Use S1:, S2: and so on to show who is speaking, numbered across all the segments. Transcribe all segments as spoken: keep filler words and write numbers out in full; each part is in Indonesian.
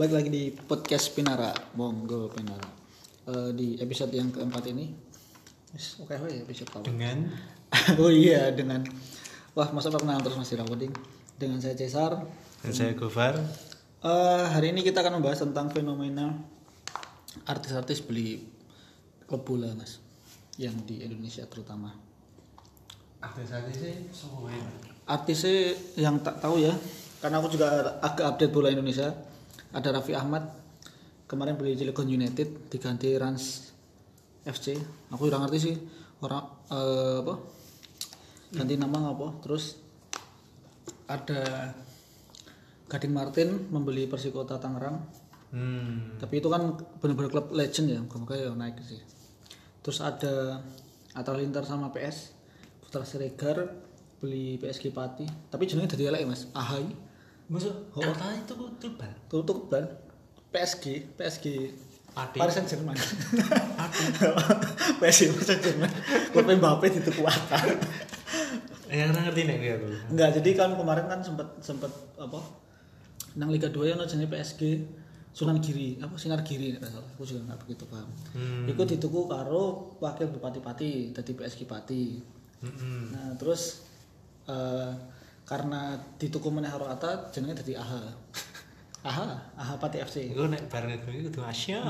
S1: Balik lagi di podcast Pinara, monggo Pinara. Uh, di episode yang keempat ini, oke okay, oh ya episode apa?
S2: Dengan,
S1: oh iya dengan, wah masa perkenalan terus masih recording. Dengan saya Cesar
S2: dan saya Gofar.
S1: Uh, hari ini kita akan membahas tentang fenomena artis-artis beli klub bola mas, yang di Indonesia terutama.
S2: Artis-artis sih semua.
S1: Artisnya yang tak tahu ya, karena aku juga agak update bola Indonesia. Ada Raffi Ahmad kemarin beli Cilegon United diganti Rans F C. Aku udah ngerti sih orang uh, apa ganti nama apa. Terus ada Gading Martin membeli Persikota Tangerang. Hmm. Tapi itu kan benar-benar klub legend ya, moga-moga ya naik sih. Terus ada Atta Halilintar sama P S. Putra Siregar beli P S G Pati. Tapi jenenge dadi elek Mas. Ahai.
S2: Maksud Atta itu klub
S1: Tuh tuh klub P S G, P S G
S2: Pati.
S1: Paris Saint-Germain. P S G Paris Saint-Germain. Klub Mbappe dituku Atta.
S2: Ya ora ngerti nek aku.
S1: Enggak, jadi kan kemarin kan sempat sempat apa? Nang Liga dua yang jenenge P S G Sunan Giri, apa Sinar Giri nek salah. Aku juga enggak begitu paham. Hmm. Iku dituku karo wakil Bupati Pati, dadi P S G Pati. Hmm. Nah, terus uh, karena dituku meneh karo Atta jenenge dadi A H. A H, A H Pati F C.
S2: Iku nek bareng kuwi kudu Asya.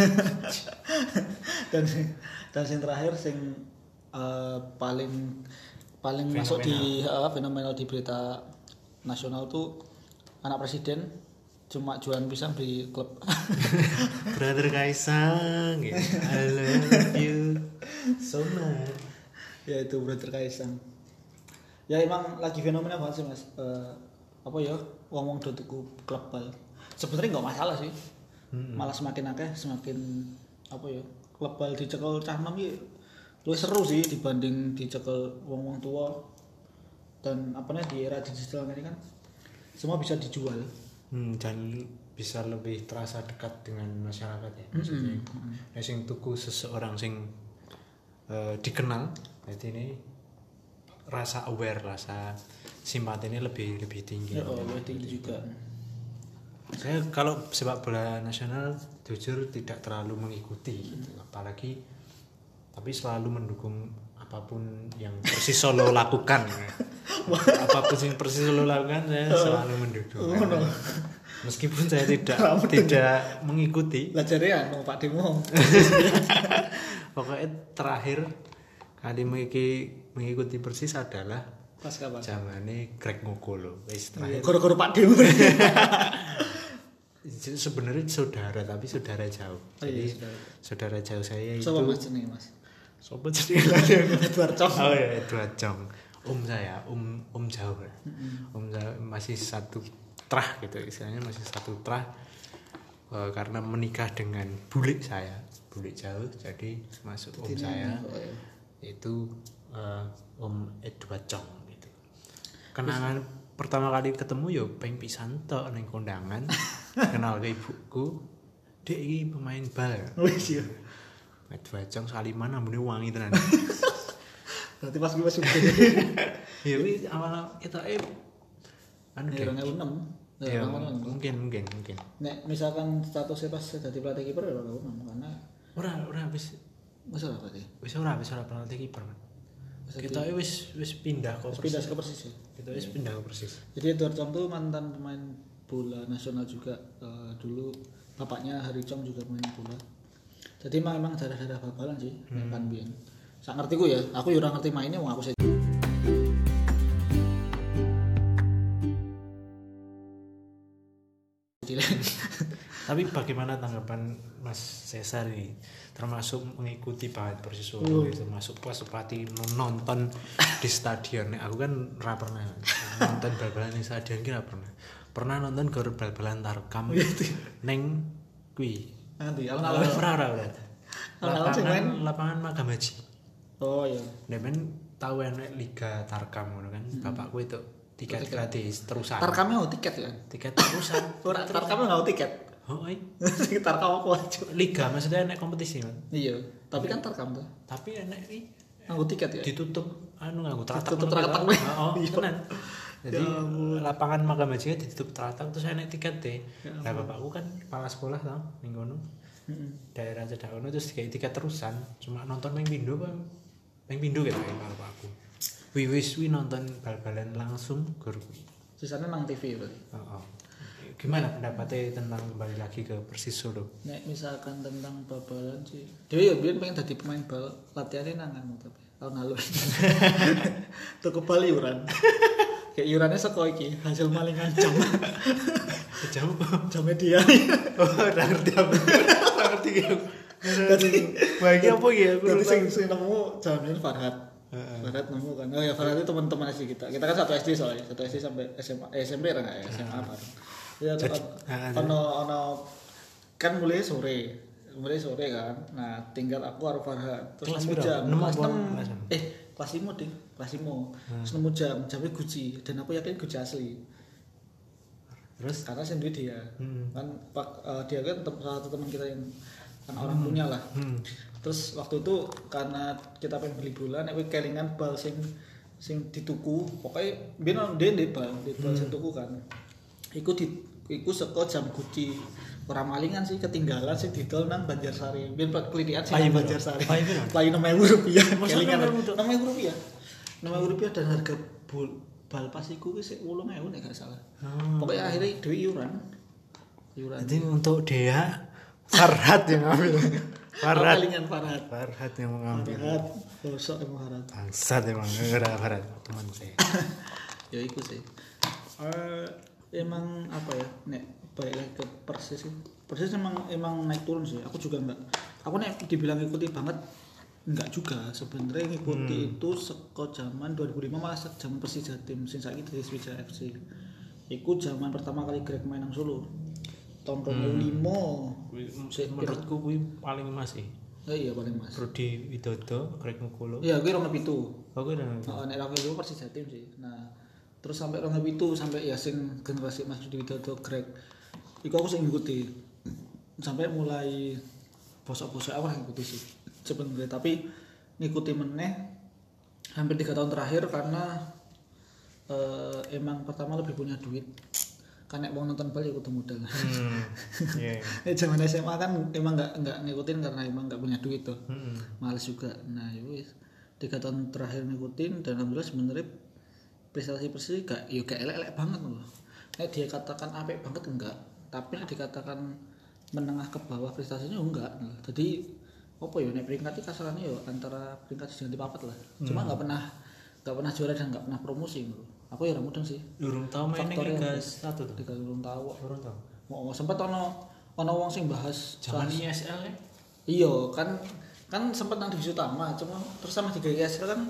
S1: dan dan sing terakhir sing uh, paling paling fenomenal. Masuk di uh, fenomenal di berita nasional tuh anak presiden cuma jualan pisang di klub.
S2: Brother Kaisang, ya. I love you so much.
S1: Ya itu Brother Kaisang. Ya emang lagi fenomena banget sih mas. Uh, apa ya? Wong-wong do tuku klub bal. Sebenarnya nggak masalah sih. Hmm. Malah semakin akeh semakin apa ya? Klub bal dicekel cah nom iki luwih seru sih dibanding dicekel wong-wong tua. Dan apanya di era digital ini kan semua bisa dijual.
S2: Hmm, dan bisa lebih terasa dekat dengan masyarakat ya. Maksudnya, mm-hmm. ya sing tuku seseorang sing uh, dikenal, jadi ini rasa aware, rasa simpati ini lebih lebih tinggi.
S1: Ya, oh, lebih tinggi juga.
S2: Saya kalau sepak bola nasional jujur tidak terlalu mengikuti, gitu. Apalagi tapi selalu mendukung apapun yang Persis Solo lakukan. Apapun yang Persis Solo lakukan saya selalu mendukung. Oh, no. Meskipun saya tidak tidak mengikuti.
S1: Lajare anu Pak Demo.
S2: Pokoknya terakhir kali mengikuti mengikuti Persis adalah
S1: pas kapan?
S2: Zamane Greg Ngokolo. Wis terakhir.
S1: Goro-goro Pak Demo.
S2: Sebenarnya saudara tapi saudara jauh.
S1: Oh,
S2: Jadi
S1: iya,
S2: saudara jauh saya itu.
S1: Sopo Mas jenenge Mas?
S2: Sopo jenenge?
S1: Edward Chong.
S2: Oh ya Edward Chong. Om saya, om om jauh. Mm-hmm. Om saya masih satu trah gitu istilahnya masih satu trah uh, karena menikah dengan bulik saya, bulik jauh jadi masuk om saya. Oh, iya. Itu uh, Om Edward Chong gitu. Kenangan Terus, pertama kali ketemu yo peng pisan tok ning kondangan. Kenal ke ibuku. Dek iki pemain bal.
S1: Wis yo.
S2: Edward Chong Saliman ambune wangi tenan.
S1: Berarti pas gue masih gede.
S2: Ya wis awal ketoke anu
S1: dua ribu enam.
S2: Ya, mungkin mungkin mungkin.
S1: Nek misalkan statusnya pas jadi pelatih kiper ya dua ribu enam karena
S2: ora ora wis
S1: wis ora berarti.
S2: Wis ora wis ora pelatih kiper. Kita wis wis pindah ke
S1: pindah ke Persis ya.
S2: Kita wis pindah ke Persis.
S1: Jadi Edward Chong tuh mantan pemain bola nasional juga uh, dulu bapaknya Hari Chong juga main bola. Jadi memang memang darah-darah bal-balan sih hmm. kan biyen. Sak ngertiku ya, aku yo ora ngerti mainnya wong aku sih. Tapi
S2: bagaimana tanggapan Mas Cesar ini termasuk mengikuti banget Persis Solo uh. termasuk pas sepati nonton di stadion. Aku kan ora pernah nonton bal-balan di stadion ki ora pernah. Pernah nonton gor bal-balan Tarkam ning kuwi.
S1: Nanti alun-alun
S2: ora ora ora. Lapangan lapangan Makam Haji.
S1: Oh iya.
S2: Nek men tau enek Liga Tarkam ngono kan. Hmm. Bapakku itu tiket, tiket gratis terusan.
S1: Tarkamnya mau tiket ya?
S2: Tiket terusan.
S1: Ora Tarkamnya enggak mau tiket.
S2: Oh, iya.
S1: Tarkam aku aja.
S2: Liga maksudnya enek kompetisi kan?
S1: Iya, tapi kan Tarkam tuh.
S2: Tapi enek iki
S1: nganggo tiket ya.
S2: Ditutup anu nganggo
S1: teratak. Ditutup teratak.
S2: Oh, tenan. Jadi lapangan Makam Haji ditutup teratak terus enek tiket deh. Nah bapakku kan kepala sekolah tau ning kono.
S1: Heeh.
S2: Daerah Cedakono terus kayak tiket terusan cuma nonton main pindo bang main pindo gitu kan bapakku. Wih wis wi nonton bal-balan langsung guru.
S1: Sisanya nang T V berarti.
S2: Oh, oh. Gimana pendapatnya tentang kembali lagi ke Persis Solo?
S1: Nek misalkan tentang bal-balan sih. Dewe ya biyen pengen dadi pemain bal, latihannya nang anu tapi tahun lalu. Tuku bal iuran. Kayak iurannya saka iki, hasil malingan jam.
S2: Jam
S1: Jam media.
S2: oh udah ngerti apa? Udah ngerti gitu.
S1: Dadi
S2: Bagi apa ya?
S1: Dadi sing sing nemu jamnya Farhat. Farhat nemu kan. Oh ya Farhat itu teman-teman S D kita. Kita kan satu S D soalnya, satu S D sampai S M A, eh, S M P kan enggak ya? S M A bareng. Ya ono ono kan mulai sore. Mulai sore kan. Nah, tinggal aku karo Farhat. Terus nemu jam kelas enam. Eh, kelas lima ding, kelas lima. Terus nemu jam, jamnya Gucci dan aku yakin Gucci asli. Terus karena sendiri dia. Hmm. Kan pak uh, dia kan tem- salah satu teman kita yang kan orang punya lah. Hmm. Terus waktu itu karena kita pengen beli bola nek kelingan bal sing sing dituku, pokoknya ben dia ndek bal, ndek bal sing tuku kan. Iku di iku saka jam Gucci. Ora malingan sih ketinggalan sing didol nang Banjarsari. Biyen kelitian sih nang Banjarsari. Paling enam ribu rupiah. Kelingan enam ribu rupiah. enam ribu rupiah dan harga bol bal pas iku wis delapan ribu nek gak salah. Hmm. Pokoknya akhirnya duit iuran. Iuran.
S2: Jadi untuk Dea Farhat yang ngambil. Farhat.
S1: Kelingan Farhat.
S2: Farhat yang mengambil.
S1: Farhat. Bosok emang Farhat.
S2: Bangsat emang gara Farhat teman saya.
S1: Ya iku sih. Uh, emang apa ya? Nek balik lagi ke Persis sih. Persis emang emang naik turun sih. Aku juga enggak. Aku nek dibilang ikuti banget enggak juga. Sebenarnya ngikuti hmm. itu seko zaman dua ribu lima malah zaman Persija Jatim sing saiki dadi Persija F C. Iku zaman pertama kali Greg main nang Solo. Tahun dua ribu lima.
S2: Hmm. Menurutku kuwi paling masih.
S1: Oh iya paling mas.
S2: Rudi Widodo, Greg Ngukolo.
S1: Iya, kuwi rong pitu.
S2: Oh, kuwi rong pitu.
S1: Heeh, nek rong pitu Persija Jatim sih. Nah, terus sampai rong pitu sampai ya sing generasi Mas Rudi Widodo, Greg. Iku aku sing ngikuti. Sampai mulai bosok-bosok aku ngikuti sih. Sebenarnya tapi ngikuti meneh hampir tiga tahun terakhir karena uh, emang pertama lebih punya duit. Kan nek wong nonton bal ya kudu modal. Hmm. Iya. Yeah. Zaman S M A kan emang enggak enggak ngikutin karena emang enggak punya duit tuh. Hmm. Males juga. Nah, ya wis tiga tahun terakhir ngikutin dan alhamdulillah sebenarnya prestasi Persis gak ya gak elek-elek banget loh. Nek dia katakan apik banget enggak, tapi nek dikatakan menengah ke bawah prestasinya enggak. Jadi apa ya nek peringkat kasarannya ya antara peringkat sing di papat lah. Cuma enggak hmm. pernah enggak pernah juara dan enggak pernah promosi loh. Aku ya ora mudeng sih.
S2: Durung tau main ning Liga satu tuh.
S1: Liga durung tau,
S2: durung tau.
S1: Mau sempat ono ono wong sing bahas
S2: zaman I S L ya.
S1: Iya, kan kan sempat nang divisi utama, cuma terus sama tiga I S L kan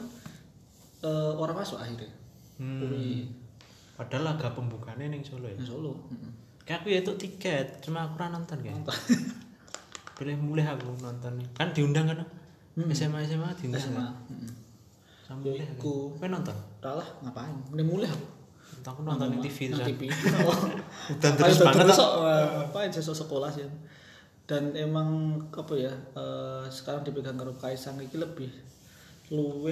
S1: uh, orang masuk akhirnya.
S2: Hmm. Ui. Padahal laga pembukaannya ning Solo ya.
S1: Ning Solo. Heeh.
S2: Kayak aku ya itu tiket, cuma aku ora nonton kayak. Boleh mulai aku nonton. Kan diundang kan? Hmm. S M A S M A diundang. S M A. Heeh. Sampai aku pengen nonton.
S1: Kalah ngapain? Mending mulai aku.
S2: Aku nonton di T V
S1: terus. T V.
S2: Dan terus banget.
S1: Apa sesuk sekolah sih. Dan emang apa ya? Uh, sekarang dipegang karo Kaisang iki lebih luweh.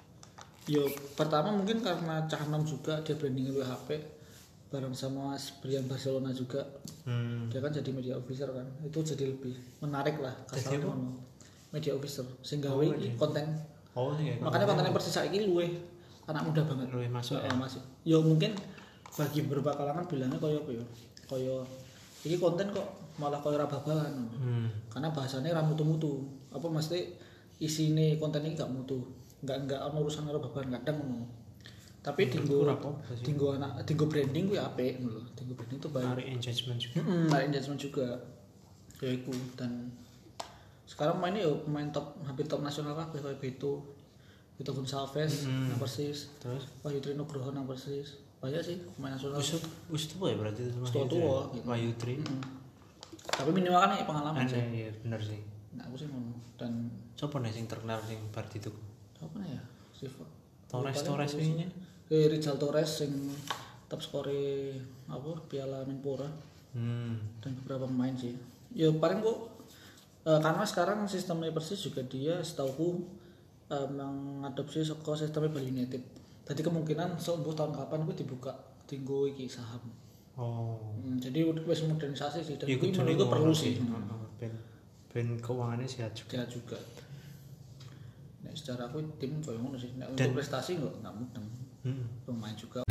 S1: Yo pertama mungkin karena Cah Nom juga dia branding luwih H P bareng sama Brian Barcelona juga. Hmm. Dia kan jadi media officer kan. Itu jadi lebih menarik lah kasarnya ngono. Media officer sing gawe oh, konten. Oh iya. Makanya kontennya Persis saiki luwih anak muda banget.
S2: Luwih masuk ya.
S1: Masuk. Yo mungkin bagi beberapa kalangan bilangnya koyo apa ya? Koyo iki konten kok malah koyo rababalan. Hmm. Karena bahasanya ra mutu-mutu. Apa mesti isine konten ini gak mutu. Enggak enggak ono urusan karo babagan kadang ngono. Tapi dinggo dinggo anak dinggo branding kuwi apik ngono lho. Dinggo branding itu baik.
S2: Narik engagement juga.
S1: Heeh, narik engagement juga. Ya iku dan sekarang mainnya yo pemain top hampir top nasional kabeh koyo Beto, Beto Gonçalves mm-hmm. nang Persis. Terus Wahyu Tri Nugroho nang Persis. Banyak sih pemain nasional.
S2: Wis wis tuwa ya berarti itu
S1: Wis tuwa
S2: Wahyu Tri.
S1: Mm-hmm. Tapi minimal kan pengalaman
S2: sih. Iya, bener sih.
S1: Nah, aku sih ngono. Dan
S2: sopo nek sing terkenal sing bar itu?
S1: Apa ya? Siva.
S2: Torres Torres wingi.
S1: Eh Rizal Torres sing top skore apa Piala Menpora. Hmm. Dan beberapa pemain sih. Ya paling kok Uh, karena sekarang sistemnya Persis juga dia setauku uh, mengadopsi sekolah sistemnya Bali United. Jadi kemungkinan seumur tahun kapan gue dibuka tinggo iki saham.
S2: Oh.
S1: Hmm, jadi wis modernisasi sih dan
S2: Iku
S1: itu
S2: jenenge
S1: menurutku perlu
S2: ngono
S1: sih.
S2: Heeh, ben ben keuangannya sehat juga.
S1: Ya juga. Nek secara aku tim koyo ngono sih. Nek
S2: Dan-
S1: untuk prestasi enggak enggak mudeng.
S2: Heeh.
S1: Pemain juga.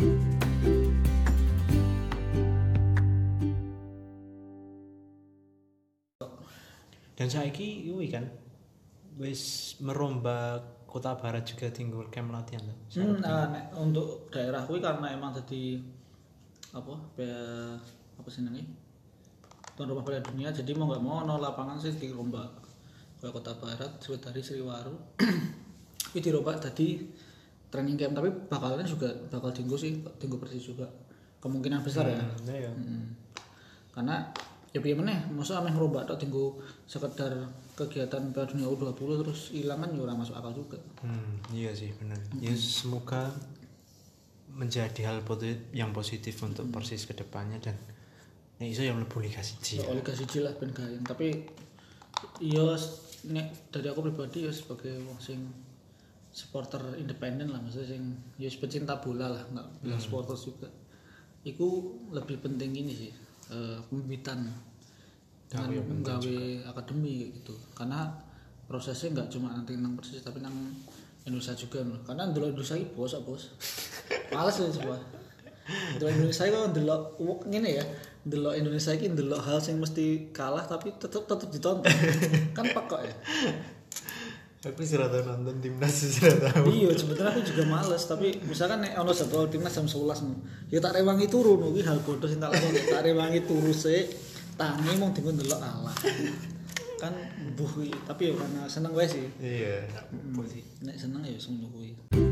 S2: Dan saiki kuwi kan wis merombak Kota Barat juga tinggal camp latihan tuh.
S1: Hmm, nah, nek untuk daerah kuwi karena emang jadi apa? Be- apa sih namanya? Tuan rumah Piala Dunia jadi mau nggak mau ono lapangan sih dirombak. Kayak Kota Barat, Sriwedari, Sriwaru. Ini dirombak tadi training camp tapi bakalan juga bakal tinggu sih, tinggu Persis juga. Kemungkinan besar ya.
S2: Hmm, ya.
S1: Mm. Karena ya piye meneh, masa ameh ngerombak tok tinggu sekedar kegiatan Piala Dunia U dua puluh terus ilang kan ya ora masuk akal juga.
S2: Hmm, iya sih benar. Ya semoga menjadi hal positif yang positif untuk Persis ke depannya dan nek iso yang mlebu Liga satu.
S1: Ya, Liga siji lah ben gayen, tapi iya nek dari aku pribadi ya sebagai wong sing supporter independen lah, maksudnya sing ya pecinta bola lah, enggak bilang supporter juga. Iku lebih penting ini sih, eh, pembibitan
S2: Oh, iya, penting
S1: gawe akademi gitu. Karena prosesnya enggak cuma nanti nang Persis tapi nang Indonesia juga loh. Karena ndelok Indonesia iki bos, bos. Males ya coba. Ndelok Indonesia kok ndelok ngene ya. Ndelok Indonesia iki ndelok hal sing mesti kalah tapi tetep tetep ditonton. Kan pekok ya.
S2: Aku sih rata nonton timnas sih rata.
S1: Iya, sebetulnya aku juga males, tapi misalkan nek ono jadwal timnas jam sebelas no. Ya tak rewangi turu no, kuwi hal bodoh sing tak lakoni. Tak rewangi turu sik, tangi mung dienggo ndelok kalah. Kan mbuh kuwi, tapi ya karena seneng wae sih.
S2: Iya, apa sih?
S1: Nek seneng ya semono kuwi.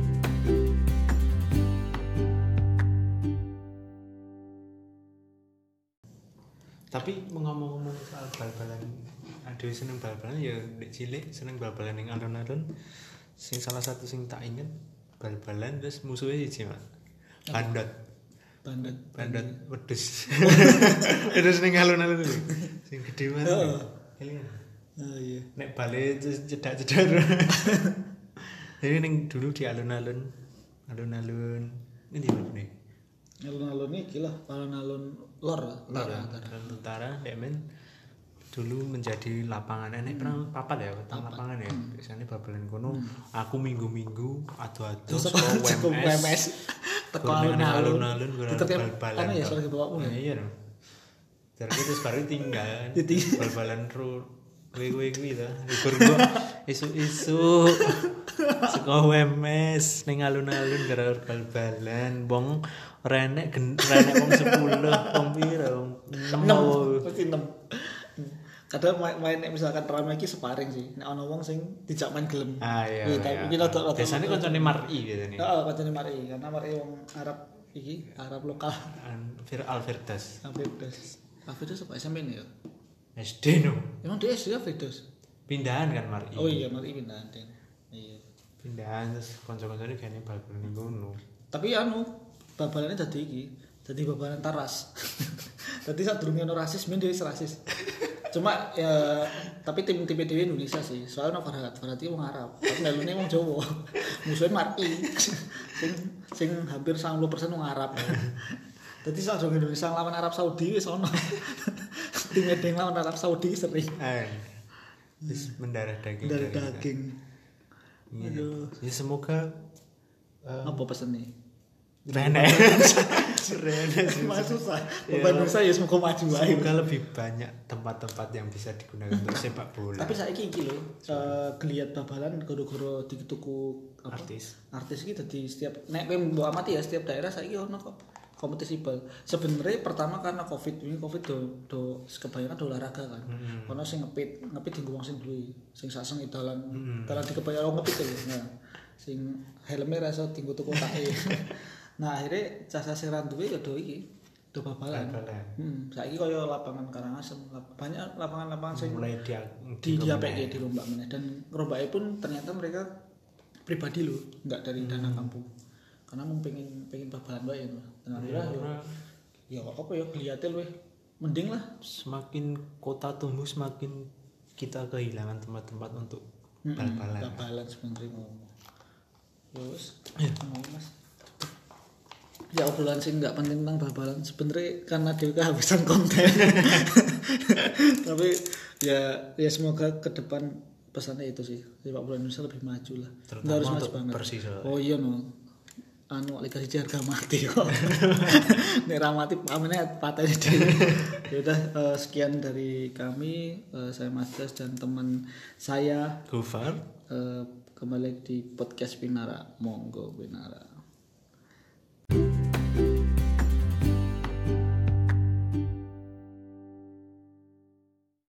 S2: Tapi ngomong-ngomong soal bal-balan, aduh seneng bal-balan ya ndek cilik seneng bal-balan ning alun-alun. Sing salah satu sing tak inget bal-balan terus musuhnya siji, Mas. Bandot.
S1: Bandot.
S2: Bandot wedhus. Terus ning alun-alun kuwi. Sing gedhe banget.
S1: Heeh.
S2: Kalian.
S1: Oh iya.
S2: Nek bale terus cedak-cedar. Jadi ning dulu di alun-alun, alun-alun ini di mana nih?
S1: Alun-alun iki lah, alun-alun lor, lor.
S2: Alun utara, Demen dulu menjadi lapangan enek pernah papat ya, tentang lapangan ya. Biasanya babalan kono, aku minggu-minggu adu-adu
S1: Saka
S2: saka W M S.
S1: teko alun-alun.
S2: Alun-alun
S1: Diterkem
S2: bal-balan.
S1: anu ya sebagai bapakmu ya.
S2: Iya dong. Terus terus baru tinggal
S1: Ditinggal.
S2: bal-balan ru kuwi-kuwi kuwi ta. Libur gua isu-isu saka W M S ning alun-alun gara bal-balan wong renek gen renek wong sepuluh wong pira wong
S1: enam pasti enam. Kadang main, main nek misalkan rame iki sparring sih. Nek ana wong sing dijak main gelem.
S2: Ah iya.
S1: Iya, tapi kita rada- rada-
S2: biasanya koncone Mar'i biasanya.
S1: Heeh, kancane mari karena mari wong Arab iki, Arab lokal.
S2: An Fir Alverdas.
S1: Alfredos. Alfredos apa S M P ya?
S2: S D no.
S1: Emang dia S D Alfredos.
S2: Pindahan kan Mar'i.
S1: Oh iya, mari pindahan Den. Iya.
S2: Pindahan terus kanca-kancane gane bal-balan ning kono.
S1: Tapi anu, babalannya dadi iki, dadi babalan taras. Dadi sadurunge ono rasis, men dia rasis. Cuma ya tapi tim tim P D W Indonesia sih. Soalnya no Farhat, Farhat itu wong Arab. Tapi melune wong Jawa. Musuhnya Mar'i. sing sing hampir sembilan puluh persen wong Arab. Dadi sadurunge Indonesia lawan Arab Saudi wis ono. Tim Edeng lawan Arab Saudi sering.
S2: Eh. Wis mendarah daging
S1: Dari
S2: kita.
S1: daging.
S2: Iya.
S1: Aduh.
S2: Ya semoga
S1: Apa pesennya?
S2: renek. Renek sih.
S1: Mas susah.
S2: Ya.
S1: Beban Indonesia ya semoga maju wae.
S2: Semoga lebih banyak tempat-tempat yang bisa digunakan untuk sepak bola.
S1: Tapi saiki iki lho, eh, geliat babalan goro-goro dituku apa?
S2: Artis.
S1: Artis iki dadi setiap nek kowe mbok amati ya setiap daerah saiki ono kok kompetisi bal. Sebenarnya pertama karena Covid, ini Covid do do kebanyakan do olahraga kan.
S2: Hmm.
S1: Ono sing ngepit, ngepit dienggo wong sing duwe, sing saseng dalan
S2: Hmm.
S1: dalan dikebayang wong ngepit lho. Nah, sing helme ra iso dienggo tuku take. Nah, akhirnya cah sing ra duwe ya do iki, do babalan.
S2: Bal-balan.
S1: Hmm, saiki kaya lapangan Karangasem, lap- banyak lapangan-lapangan sing
S2: Mulai dia
S1: di dia P G di rombak meneh dan rombaknya pun ternyata mereka pribadi loh, nggak dari dana kampung. Karena mau pengen pengen babalan bae ya. Dan akhirnya ya, ya apa ya kelihatin loh. Mending lah.
S2: Semakin kota tumbuh semakin kita kehilangan tempat-tempat untuk bal-balan.
S1: Babalan sebenarnya ngomong. Ya wis,
S2: Ya.
S1: ngomong Mas. ya obrolan sih nggak penting tentang bal-balan sebenarnya karena dia kehabisan konten. Tapi ya ya semoga ke depan pesannya itu sih sepak bola Indonesia lebih maju lah.
S2: Terutama
S1: Nggak harus maju
S2: untuk
S1: banget.
S2: Persija.
S1: Oh iya no. Anu Liga siji harga mati kok. Nek ra mati pamene patene dhewe. Ya udah eh, sekian dari kami, eh, saya Mas Das dan teman saya
S2: Gofar.
S1: eh, kembali di podcast Pinara. Monggo Pinara.